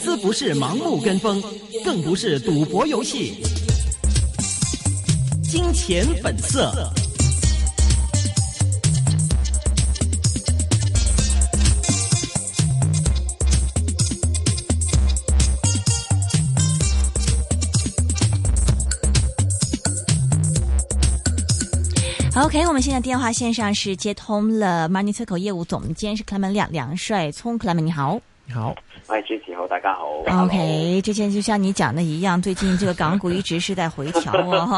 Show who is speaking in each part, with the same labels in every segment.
Speaker 1: 司不是盲目跟風，更不是賭博遊戲。金錢本色。
Speaker 2: OK， 我們現在電話線上是接通了 Money Circle 業務總監是 Clement 梁帥聰 Clement 你好。
Speaker 3: 你好，
Speaker 4: 喂，主持好，大家好。
Speaker 2: OK， 之前就像你講的一樣，最近這個港股一直是在回調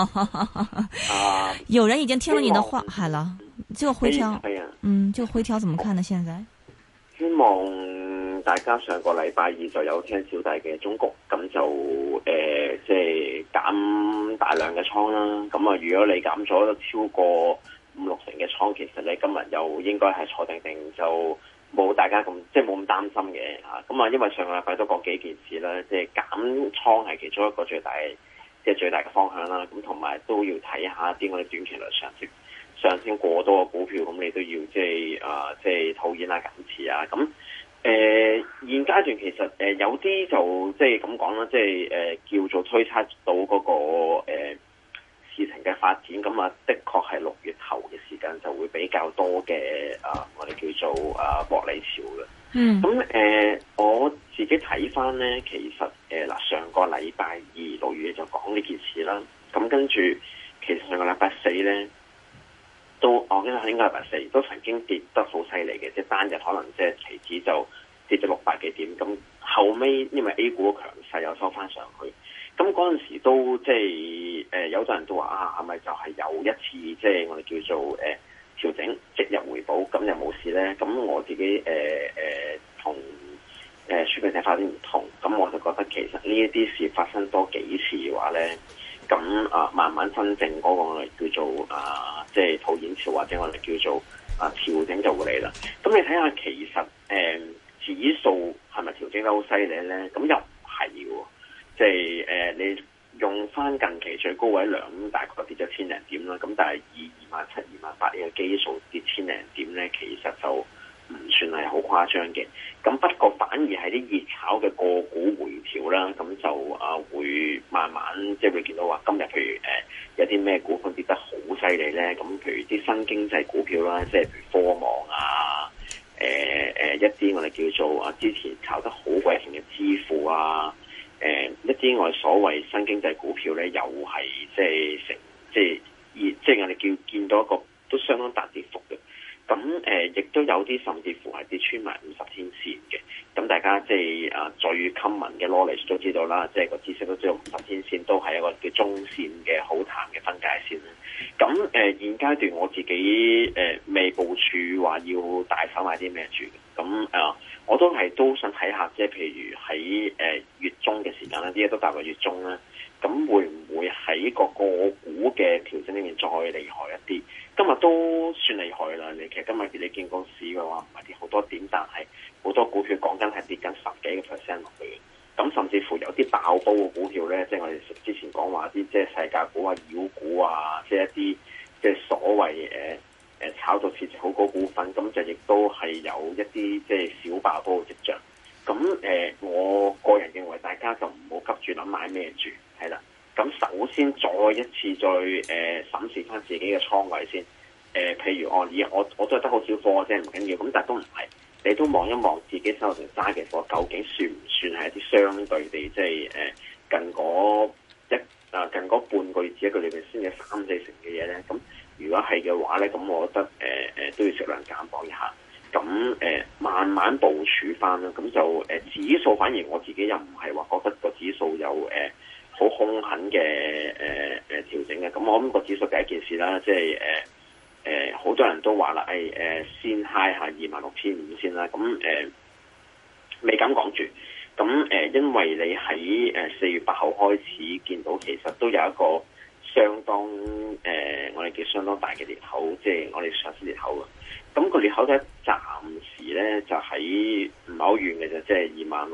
Speaker 2: 有人已經聽了你的話，好了，這個回調，這個回調怎麼看呢？現在
Speaker 4: 希望大家上個禮拜二就有聽小弟嘅忠告，咁就即係減大量嘅倉啦。咁啊，如果你減咗超過5-6成嘅倉，其實你今日又應該係坐定定就。冇大家咁即係冇咁擔心嘅嚇，咁啊因為上個禮拜都講幾件事啦，即係減倉係其中一個最大嘅方向啦，咁同埋都要睇下啲我哋短期內上升過多嘅股票，咁你都要即係套現啊減持啊，咁現階段其實有啲就即係咁講啦，即係叫做推測到嗰個事情嘅發展，咁啊的確係6月頭嘅時間就會比較多嘅我哋叫做獲利潮嘅。咁我自己睇翻咧，其實上個禮拜二6月就講呢件事啦。咁跟住其實上個禮拜四咧，我記得應該禮拜四都曾經跌得好犀利嘅，即係單日可能即係期指就跌咗600幾點。咁後尾因為 A 股強勢又收翻上去。咁嗰陣時都即係有啲人都話係咪就係有一次即係我哋叫做調整即日回補，咁又冇事咧？咁我自己同書記睇法啲唔同，咁我就覺得其實呢一啲事發生多幾次嘅話咧，咁慢慢真正嗰個我哋叫做即係套現潮或者我哋叫做調整就會嚟啦。咁你睇下其實指數係咪調整得好犀利咧？咁又唔係喎。即係你用翻近期最高位量，大概跌咗千零點啦。咁但係以27,000、28,000呢個基數跌千零點咧，其實就唔算係好誇張嘅。咁不過反而係啲熱炒嘅個股回調啦，咁就會慢慢即係會見到話今日譬如有啲咩股份跌得好犀利咧。咁譬如啲新經濟股票啦，即係譬如科網啊，一啲我哋叫做之前炒得好鬼勁嘅支付啊。一啲我哋所謂新經濟股票咧，又係即係我哋見到一個都相當大跌幅嘅。咁亦都有啲甚至乎係跌穿埋50天線嘅。咁大家即係最 common 嘅 knowledge 都知道啦，即係個知識都知道50天線都係一個叫中線嘅好淡嘅分界線啦。咁現階段我自己未部署話要大手買啲咩住嘅。咁我都想睇下，即係譬如喺月中嘅時間啦，啲嘢都踏入月中啦，咁會唔會喺個股嘅調整裏面再厲害一啲？今日都算厲害啦，其實今日你見個市嘅話唔係跌好多點，但係好多股票講緊係跌緊10幾個%落去嘅。咁甚至乎有啲爆煲嘅股票咧，即係我哋之前講話啲即係世界股啊、妖股啊，即係一啲即係所謂炒到市值好高股份，咁就亦都係有一啲即係小爆煲嘅跡象。咁我個人認為大家就唔好急住諗買咩住，係啦。咁首先再一次再審視翻自己嘅倉位先。譬如我都係得好少貨啫，唔緊要。咁但係都唔係，你都望一望自己手上揸嘅貨，究竟算唔算係一啲相對地即係近嗰半個月至一個月先有3-4成嘅嘢咧？咁如果係嘅話咧，咁我覺得都要適量減磅一下。咁慢慢部署翻啦。咁就指數反而我自己又唔係話覺得個指數有好兇狠嘅調整嘅。咁我諗個指數第一件事啦，即係好多人都話啦，先 high 下26,500先啦。咁未敢講住。咁因為你喺4月8號開始見到，其實都有一個相當我哋叫相當大嘅裂口，即係我哋上市裂口啊。咁個裂口咧，暫時咧就喺唔係好遠嘅啫，即係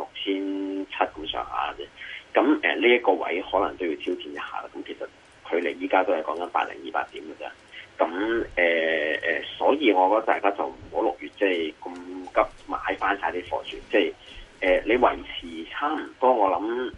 Speaker 4: 26,700咁上下啫。咁呢一個位可能都要挑戰一下啦。咁其實距離依家都係講緊80200點嘅啫。咁所以我覺得大家就唔好6月即係咁急買翻晒啲貨住，即係你維持差唔多，我諗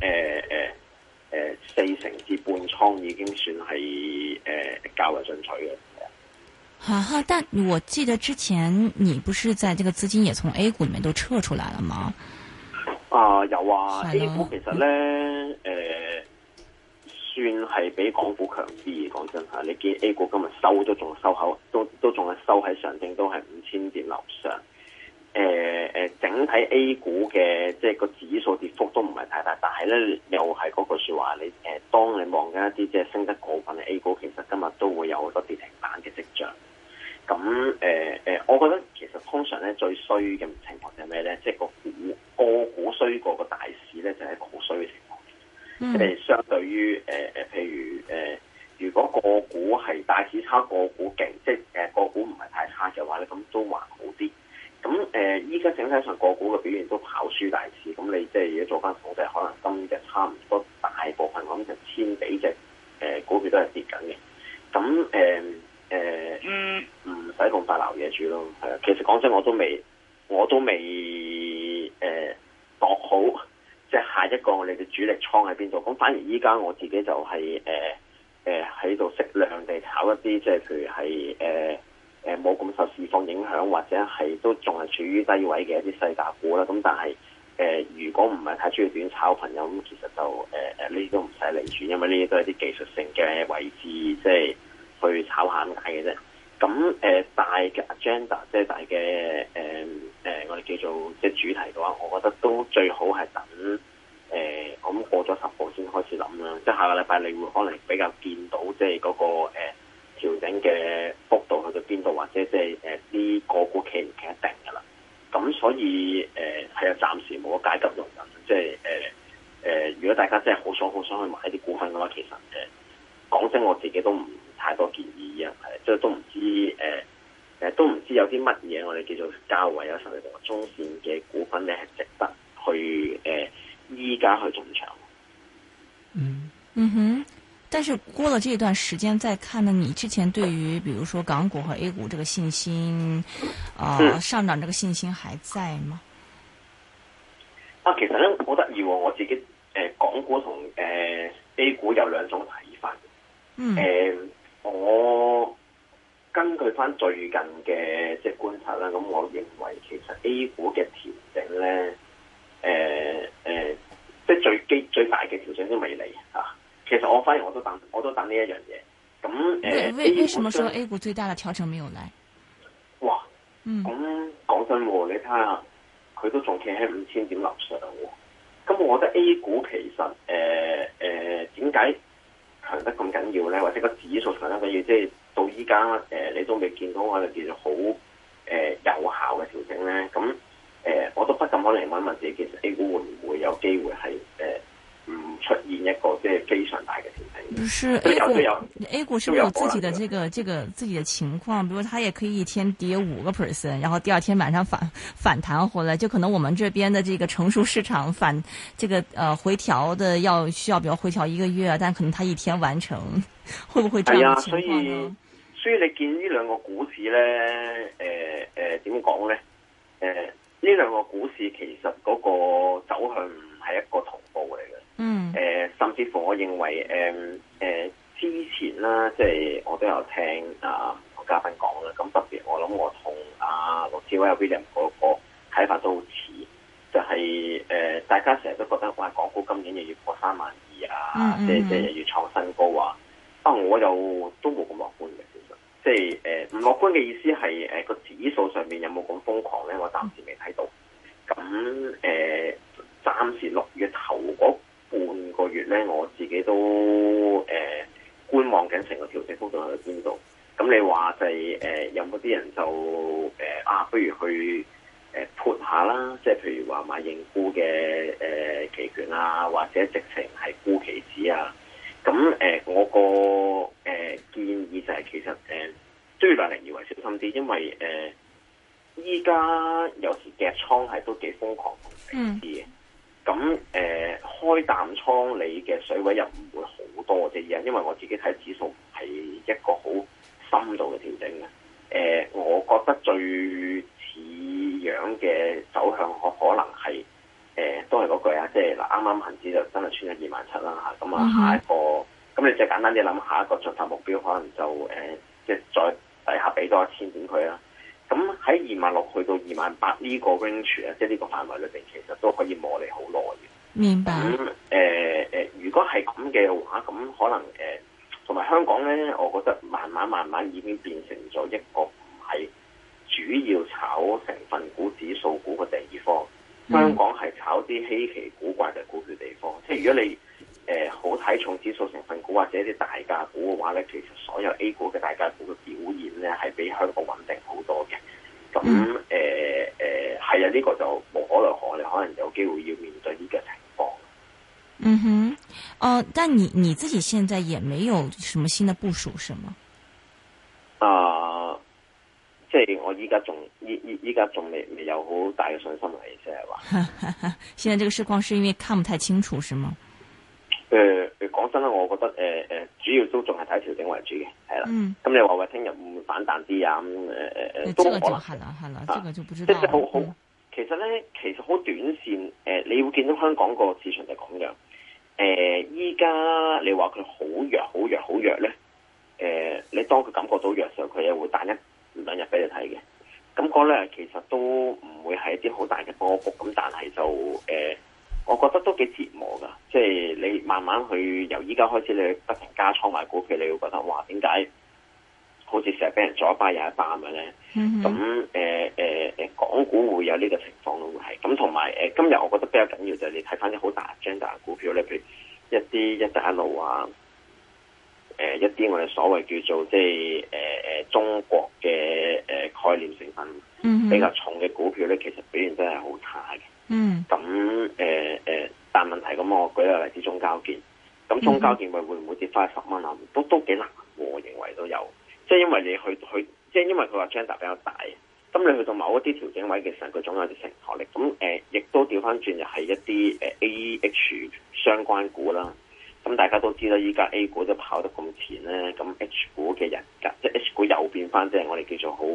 Speaker 4: 4成至半倉已經算係較為進取嘅。
Speaker 2: 哈，但我記得之前你不是在這個資金也從 A 股裏面都撤出來了嗎？
Speaker 4: 有啊 ，A 股其實咧算係比港股強啲。講真嚇，你見 A 股今日都仲係收喺上證，都係5000點樓上。整體 A 股嘅即係個指數跌幅都唔係太大，但係咧又係嗰句説話，你當你望緊一啲即係升得過分嘅 A 股，其實今日都會有好多跌停板嘅跡象。咁我覺得其實通常咧最衰嘅情況就係咩咧？即係個股衰過個大市咧，就係一個好衰嘅情況。即係相對於譬如如果個股係大市差，個股勁，即係個股唔係太差嘅話咧，咁都還好啲。咁依家整體上個股嘅表現都跑輸大市，咁你即係如果做翻統計，可能今日差唔多大部分咁就千幾隻股票都係跌緊嘅。咁唔使咁快撈嘢住咯。係啊，其實講真，我都未度好，即係下一個我哋嘅主力倉喺邊度。咁反而依家我自己就係喺度適量地炒一啲，即係譬如係冇咁受市況影響，或者係都仲係處於低位嘅一啲細價股啦。咁但係如果唔係太中意短炒嘅朋友，咁其實就呢啲都唔使理住，因為呢啲都係啲技術性嘅位置，即係去炒下咁解嘅啫。咁大嘅 agenda， 即係大嘅我哋叫做即係主題嘅話，我覺得都最好係等我諗過咗10號先開始諗啦。即係下個禮拜你會可能比較見到即係嗰個調整嘅幅度去到邊度，或者即係啲個股企唔企一定㗎啦。咁所以係啊，暫時冇個階級容忍。即係如果大家真係好想去買啲股份嘅話，其實講真，我自己都唔太多建議啊，即係都唔知有啲乜嘢我哋叫做較為有實力同埋中線嘅股份咧，係值得去依家去進場。
Speaker 2: 嗯哼。但是過了這段時間再看呢，你之前對於比如說港股和 A 股這個信心，上漲這個信心還在嗎？
Speaker 4: 其實咧好得意喎，我自己港股同A 股有兩種睇法。我根據翻最近嘅即係觀察啦，咁我認為其實 A 股嘅調整咧，即係最大嘅調整都未嚟啊！其實我反而我都等呢一樣嘢。咁
Speaker 2: 為什麼說 A 股最大的調整沒有來？
Speaker 4: 哇！咁講真喎，你睇下佢都仲企喺5000點樓上喎。咁我覺得 A 股其實點解強得咁緊要咧？或者個指數強得緊要，即係到依家你都未見到我哋叫做好有效嘅調整咧。咁我都不禁可能問一問自己，其實 A 股會唔會有機會係唔出現一個即係非常大嘅調整？
Speaker 2: 不是 A 股是不是有自己的自己的情況？比如它也可以一天跌5%，然後第二天晚上反彈回來，就可能我們這邊的這個成熟市場回調的需要比如回調1個月，但可能它一天完成，會不會這樣的情況呢？
Speaker 4: 所以你見呢兩個股市咧，點講咧？呢兩個股市其實嗰個走向唔係一個同步嚟嘅。甚至乎我認為之前啦，即係我都有聽個嘉賓講啦。咁特別我諗我同陸志威 William 嗰個睇法都好似，就係大家成日都覺得哇，港股今年又要破32000啊，即係又要創新高啊！我又都冇咁樂觀嘅，其實即係唔樂觀嘅意思係個指數上面有冇咁瘋狂咧？我暫時未睇到。咁暫時6月頭嗰半個月咧，我自己都觀望緊成個調整幅度喺邊度。咁你話就係有冇啲人就不如去潑下啦，即係譬如話買認沽嘅期權啊，或者直情係沽期指啊。咁我個建議就係其實都要量力而為，小心啲，因為依家有時夾倉係都幾瘋狂同死嘅。咁開淡倉你嘅水位又唔會好多啫，因為我自己睇指數係一個好深度嘅調整嘅。我覺得最似樣嘅走向可能係都係嗰句啊，即係嗱啱啱恒指就真係穿咗27,000啦嚇，咁啊下一個，咁你最簡單啲諗下一個進發目標，可能就即係再底下俾多1000點佢啦。咁喺26,000去到28,000呢個 range 啊，即係呢個範圍裏邊，其實都可以磨你好耐嘅。
Speaker 2: 明白。
Speaker 4: 咁如果係咁嘅話，咁可能同埋香港咧，我覺得慢慢已經變成咗一個唔係主要炒成分股、指數股嘅地方。香港係炒啲稀奇古怪嘅股票地方。即係如果你好睇重指數成分股或者啲大價股嘅話咧，其實所有 A 股嘅大價股嘅表現咧係比香港穩定好多嘅。咁係啊，呢個就無可奈何，你可能有機會要面對呢個情況。
Speaker 2: 嗯哼，但你自己現在也沒有什麼新的部署，是嗎？
Speaker 4: 即係我依家仲未有好大嘅信心嚟，即係話。
Speaker 2: 現在這個市況是因為看不太清楚，是嗎？
Speaker 4: 講真啦，我覺得主要都仲係睇調整為主嘅，係啦。咁你話聽日會唔會反彈啲啊？都可能。係啦，這個就不知道。即係好，其實好短線。你會見到香港個市場就咁樣。依家你話佢好弱咧，你當佢感覺到弱嘅時候，佢又會彈1-2日俾你睇嘅。咁嗰兩日其實都唔會係一啲好大嘅波幅，咁但係就我覺得都幾折磨噶。即係你慢慢去由依家開始，你不停加倉買股票，你會覺得哇，點解好似成日俾人左一巴右一巴咁樣咧？咁港股會有呢個情況咯，會係咁。同埋今日我覺得比較緊要就係你睇翻啲好大 agenda 嘅股票咧，譬如一啲一帶一路啊，一啲我哋所謂叫做即係中國嘅概念成分比較重嘅股票咧，其實表現真係好差嘅。咁但問題咁，我舉個例子中交建，咁中交建會唔會跌翻10蚊啊？都幾難，我認為都有。即係因為你去，即係因為佢話 agenda 比較大，咁你去到某一啲調整位嘅時候，佢總有啲承托力。咁亦都調翻轉，就係一啲AH 相關股啦。咁大家都知啦，依家 A 股都跑得咁前咧，咁 H 股嘅人格，即係 H 股又變翻，即係我哋叫做好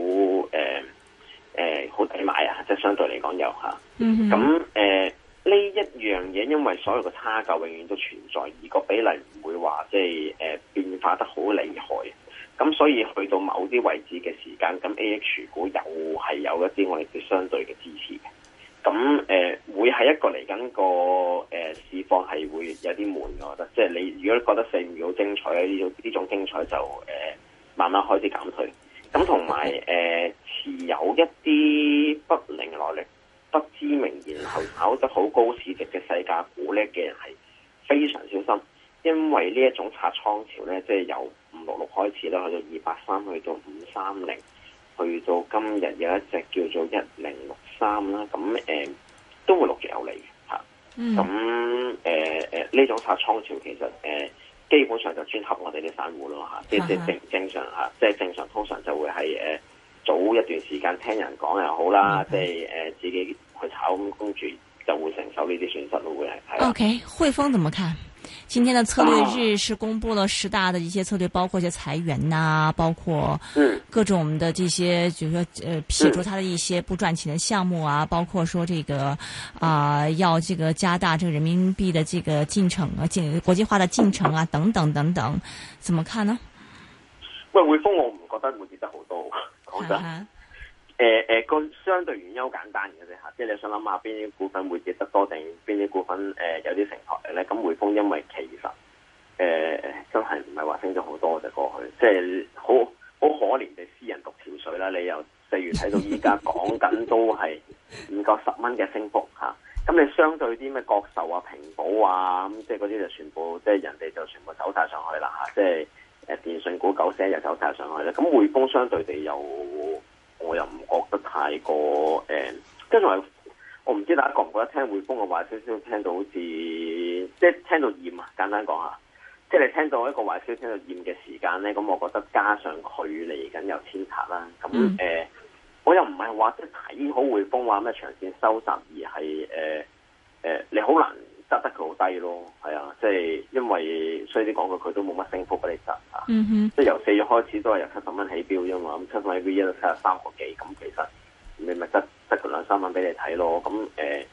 Speaker 4: 好抵買啊！即係相對嚟講有嚇。咁呢一樣嘢，因為所有嘅差價永遠都存在，而個比例唔會話即係變化得好厲害。咁所以去到某啲位置嘅時間，咁 AH 股又係有一啲我哋叫相對嘅支持嘅。咁會係一個嚟緊個市況係會有啲悶，我覺得。即係你如果覺得4、5月好精彩呢種精彩就慢慢開始減退。咁同埋持有一啲不明來歷、不知名，然後炒得好高市值嘅細價股咧嘅人係非常小心，因為呢一種拆倉潮咧，即係由566開始啦，去到283，去到530，去到今日有一隻叫做1063啦，咁都會陸續有嚟嘅嚇。咁呢種拆倉潮其實基本上就專合我哋啲散戶咯嚇，即係正常嚇，即係正常通常就會係早一段時間聽人講又好啦，即係自己去炒咁跟住就會承受呢啲損失咯，會係。OK，
Speaker 2: 匯豐怎麼看？今天的策略日是公布了10大的一些策略，包括一些裁員呐、包括各種的這些，就是說撇除它的一些不賺錢的項目啊，包括說這個要這個加大這個人民幣的這個進程啊，國際化的進程啊，等等等等，怎麼看呢？
Speaker 4: 喂，匯豐我唔覺得會跌得好多，講真。個相對原因好簡單嘅啫嚇，即係你想諗下邊啲股份會跌得多定邊啲股份有啲承托力咧？咁匯豐因為其實真係唔係話升咗好多就過去，即係好可憐地私人獨條水啦。你由4月睇到依家講緊都係唔夠10蚊嘅升幅嚇。咁你相對啲咩國壽啊、平保啊咁，即係嗰啲就全部即係人哋就全部走晒上去啦嚇。即係電信股9些又走晒上去咧。咁匯豐相對地我又唔覺得太過跟住我唔知大家覺唔覺得聽匯豐嘅壞消息聽到好似即係聽到厭啊！簡單講下，即係你聽到一個壞消息聽到厭嘅時間咧，咁我覺得加上佢嚟緊有遷冊啦，咁我又唔係話即係睇好匯豐話咩長線收集，而係你好難執得佢好低咯，係啊，即係因為衰啲講句，佢都冇乜升幅俾你執嚇，即係由4月開始都係由70蚊起標啫嘛，咁70蚊 V 一都73個幾，咁其實你咪得個2-3蚊俾你睇咯，咁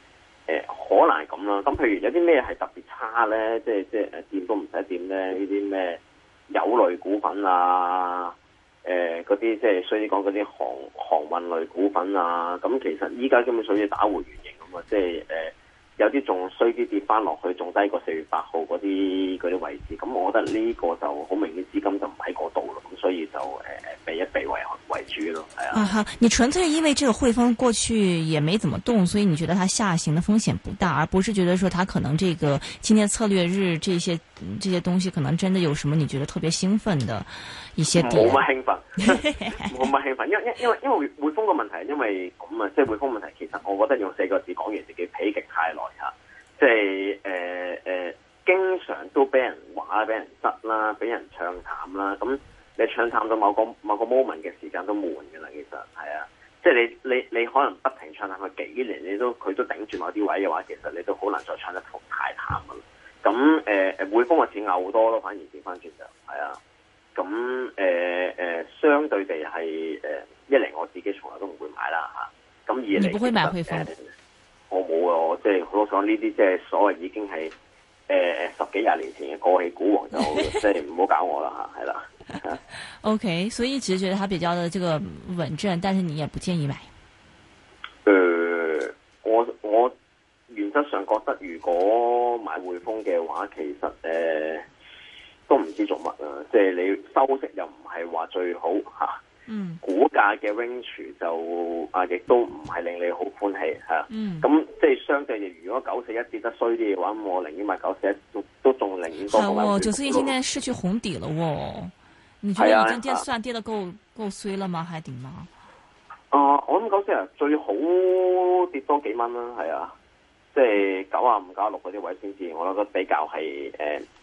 Speaker 4: 可能係咁啦。咁譬如有啲咩係特別差咧，即係掂都唔使掂咧，呢啲咩油類股份啊，嗰啲即係衰啲講嗰啲航運類股份啊，咁其實依家根本屬於打回原形咁啊，即係有啲仲衰啲跌翻落去，仲低過4月8號嗰啲位置，咁我覺得呢個就好明顯資金就唔喺嗰度咯，咁所以就避一避為主咯，係啊。
Speaker 2: 哈，你純粹因為這個匯豐過去也沒怎麼動，所以你覺得它下行的風險不大，而不是覺得說它可能這個今天策略日這些東西可能真的有什麼你覺得特別興奮的一些點？
Speaker 4: 冇乜興奮，冇乜興奮，因為匯豐個問題，因為咁啊，即係匯豐問題，其實我覺得用4個字講完自己否極泰來嚇，即係經常都俾人話、俾人質啦、俾人唱淡啦，咁你唱淡到某個 moment 嘅時間都悶㗎啦，其實係啊，即係你可能不停唱淡佢幾年，佢都頂住某啲位嘅話，其實你都好難再唱得太淡㗎啦。咁匯豐嘅錢拗好多咯，反而調翻轉就係啊。咁相對地係一嚟我自己從來都唔會買啦嚇，咁二嚟你不會買匯豐？我冇啊，我即係好想呢啲即係所謂已經係10幾20年前嘅過氣股王就即係唔好搞我啦嚇，係啦。
Speaker 2: OK， 所以只是覺得它比較的這個穩陣，但是你也不建議買。
Speaker 4: 我原則上覺得如果買匯豐嘅話，其實都唔知做乜啊！即係你收息又唔係話最好嚇，股價嘅 range 就亦都唔係令你好歡喜嚇。咁即係相對地，如果941跌得衰啲嘅話，咁我寧願買941都仲寧願多過買匯豐。
Speaker 2: 941現在失去紅底了喎，你覺得已經算跌得夠衰了嗎？還點嗎？
Speaker 4: 我諗941最好跌多幾蚊啦，係啊。即係95、96嗰啲位先至，我覺得比較係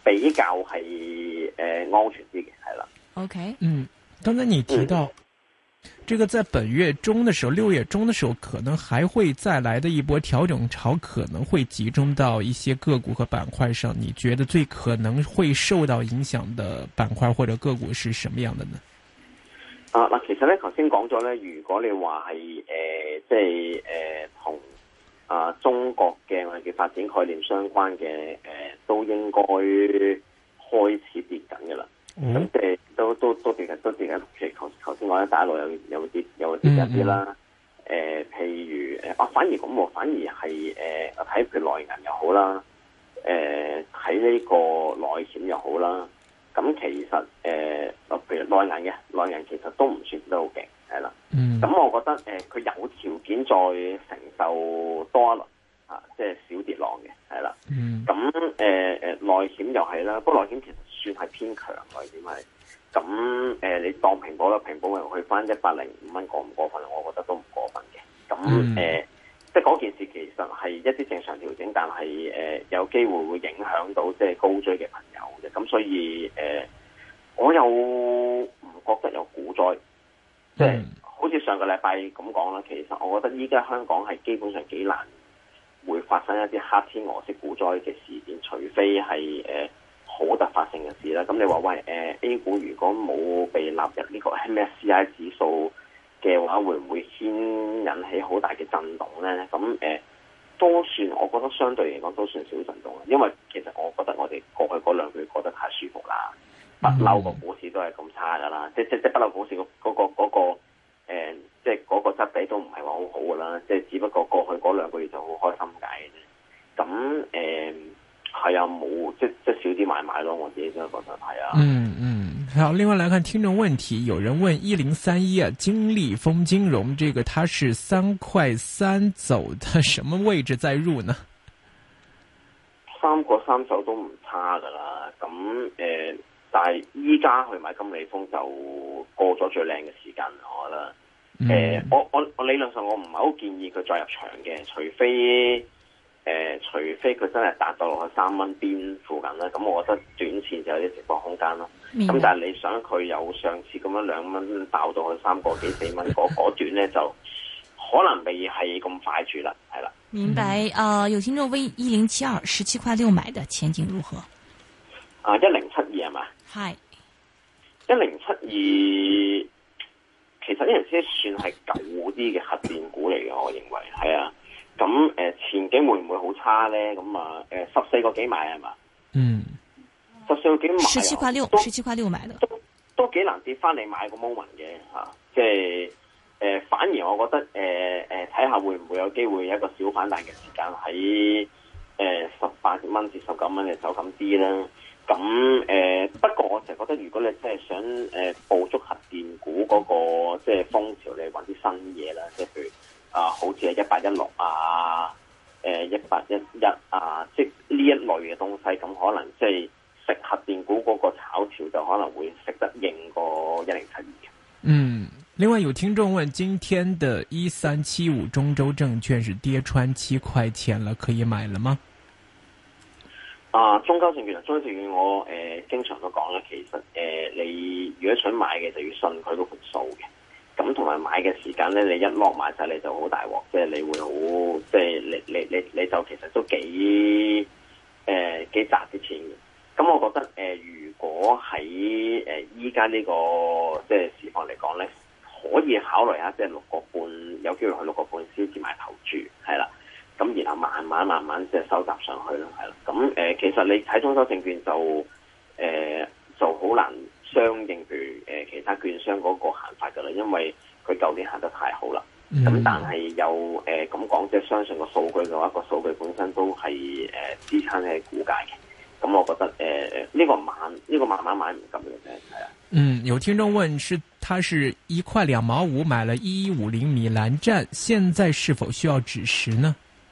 Speaker 4: 安全啲嘅，係啦。
Speaker 2: OK，
Speaker 3: 剛才你提到，這個在本月中的時候，6月中的時候，可能還會再來的一波調整潮，可能會集中到一些個股和板塊上。你覺得最可能會受到影響的板塊或者個股是什麼樣的呢？
Speaker 4: 嗱，其實咧，頭先講咗咧，如果你話係即係同中國嘅我哋叫發展概念相關嘅都應該開始跌緊嘅啦。咁即係都跌緊，其實頭先講咧，大陸有跌一啲啦。譬如反而咁喎，反而係睇譬如內銀又好啦，睇呢個內險又好啦。咁其實譬如內銀其實都唔算得好勁，係啦。咁我覺得佢有條件再承受多一輪即係小跌浪嘅，係啦。咁內險又係啦，不過內險其實算係偏強內險係。咁你當平保啦，平保又去翻105蚊過唔過分？我覺得都唔過分嘅。咁即係嗰件事其實係一啲正常調整，但係有機會會影響到即係高追嘅朋友嘅。咁所以我又唔覺得有股災，即係好似上個禮拜咁講啦。其實我覺得依家香港係基本上幾難會發生一啲黑天鵝式股災嘅事件，除非係好突發性嘅事啦。咁你話喂A 股如果冇被納入呢個 MSCI 指數嘅話，會唔會先引起好大嘅震動咧？咁都算，我覺得相對嚟講都算少震動啦。因為其實我覺得我哋過去嗰2個月過得太舒服啦，不嬲個股市都係咁差噶啦。即不嬲股市嗰個即係嗰個質地都唔係話好好噶啦。即係只不過過去嗰2個月就好開心解嘅啫。咁係啊，冇即少啲買咯。我自己真係覺得係啊。
Speaker 3: 好，另外來看聽眾問題，有人問1031啊，金利豐金融這個它是3.3走的，什麼位置再入呢
Speaker 4: ？3.3走都唔差噶啦，咁但係依家去買金利豐就過咗最靚嘅時間，我覺得。我理論上我唔係好建議佢再入場嘅，除非佢真係達到落去3蚊邊附近啦，咁我覺得短線就有啲直播空間咯。咁但係你想佢有上次咁樣2蚊爆到去3個幾4蚊嗰段咧，就可能未係咁快住啦，係啦。
Speaker 2: 明白。有聽眾問1072 17.6買的前景如何
Speaker 4: ？1072係嘛？
Speaker 2: 係。
Speaker 4: 1072其實呢樣先算係舊啲嘅核電股嚟嘅，我認為係啊。 咁前景會唔會好差咧？咁啊14個幾買係嘛？14個幾買
Speaker 2: 17.6買的，
Speaker 4: 都幾難跌翻你買個 moment 嘅嚇，即係反而我覺得睇下會唔會有機會一個小反彈嘅時間喺18蚊至19蚊嘅走咁啲啦。咁不過我成日覺得，如果你真係想捕捉核電股嗰個即係風潮，你揾啲新嘢啦，即係譬如好似係1816啊、1811啊，即係呢一類嘅東西，咁可能即係食核電股嗰個炒潮就可能會食得應過1072嘅。
Speaker 3: 另外有聽眾問，今天的1375中州證券是跌穿7塊錢了，可以買了嗎？
Speaker 4: 中州證券我經常都講啦，其實你如果想買嘅就要信佢嗰盤數嘅，咁同埋買嘅時間咧，你一落買晒你就好大鑊，即係你會好，即係你就其實都幾賺啲錢嘅。咁我覺得如果喺依家呢個即係市況嚟講咧，可以考慮下即係6個半，有機會去6個半先至買投注，係啦。咁然後慢慢即係收集上去咯，係啦。咁其實你睇中州證券就好難相應譬如其他券商嗰個行法噶啦，因為佢舊年行得太好啦。咁但係又咁講，即係相信個數據嘅話，個數據本身都係支撐嘅股價嘅。咁我覺得呢個慢慢買唔急嘅啫，係啊。
Speaker 3: 有聽眾問他是1塊2毛5買了1150米蘭站，現在是否需要止蝕呢？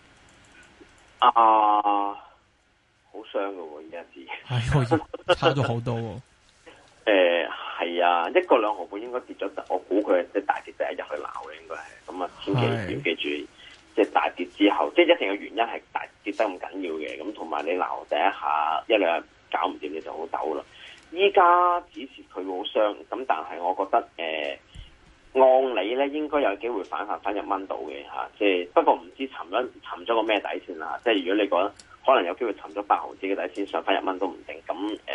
Speaker 4: 好傷㗎喎，而家知。
Speaker 3: 差咗好多喎。
Speaker 4: 係啊，1個2毫半應該跌咗，我估佢即係大跌第一日去鬧嘅應該係。咁啊，千祈要記住，即係大跌之後，即係一定嘅原因係大跌得咁緊要嘅。咁同埋你鬧第一下1兩日搞唔掂，你就好抖啦。依家指示佢好傷，咁但係我覺得按理咧應該有機會反彈翻1蚊度嘅嚇，即係不過唔知沉咗個咩底線啦。即係如果你覺得可能有機會沉咗8毫子嘅底線上翻1蚊都唔定，咁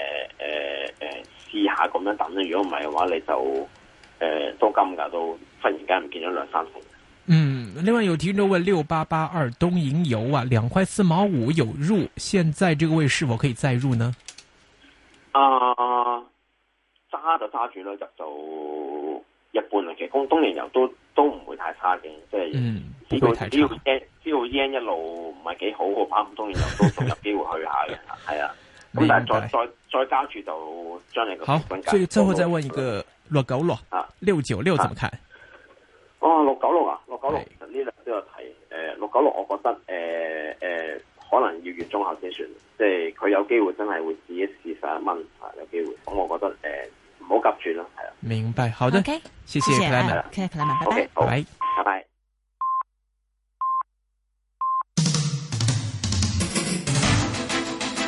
Speaker 4: 試下咁樣等啦。如果唔係嘅話，你就都金㗎，都忽然間唔見咗2-3成。
Speaker 3: 另外有聽眾問6882東瀛遊2塊4毛5有入，現在這個位是否可以再入呢？
Speaker 4: 揸就揸住啦，入就一般啦。其實東瀛遊都唔會太差嘅，即係只要 yen 一路唔係幾好嘅話，東瀛遊都仲有機會去下嘅，係啊。咁但係再加住就將你個
Speaker 3: 好。最後再問一個696啊，696怎麼看
Speaker 4: ？696啊，696其實呢兩都有睇。696我覺得可能要月中後先算，即係佢有機會真係會試一試11蚊，有機會。咁我覺得唔好急住啦，係啊。
Speaker 3: 明白，好的，
Speaker 2: OK，
Speaker 3: 謝謝克萊曼，
Speaker 2: 克萊曼，拜拜。
Speaker 3: 拜拜。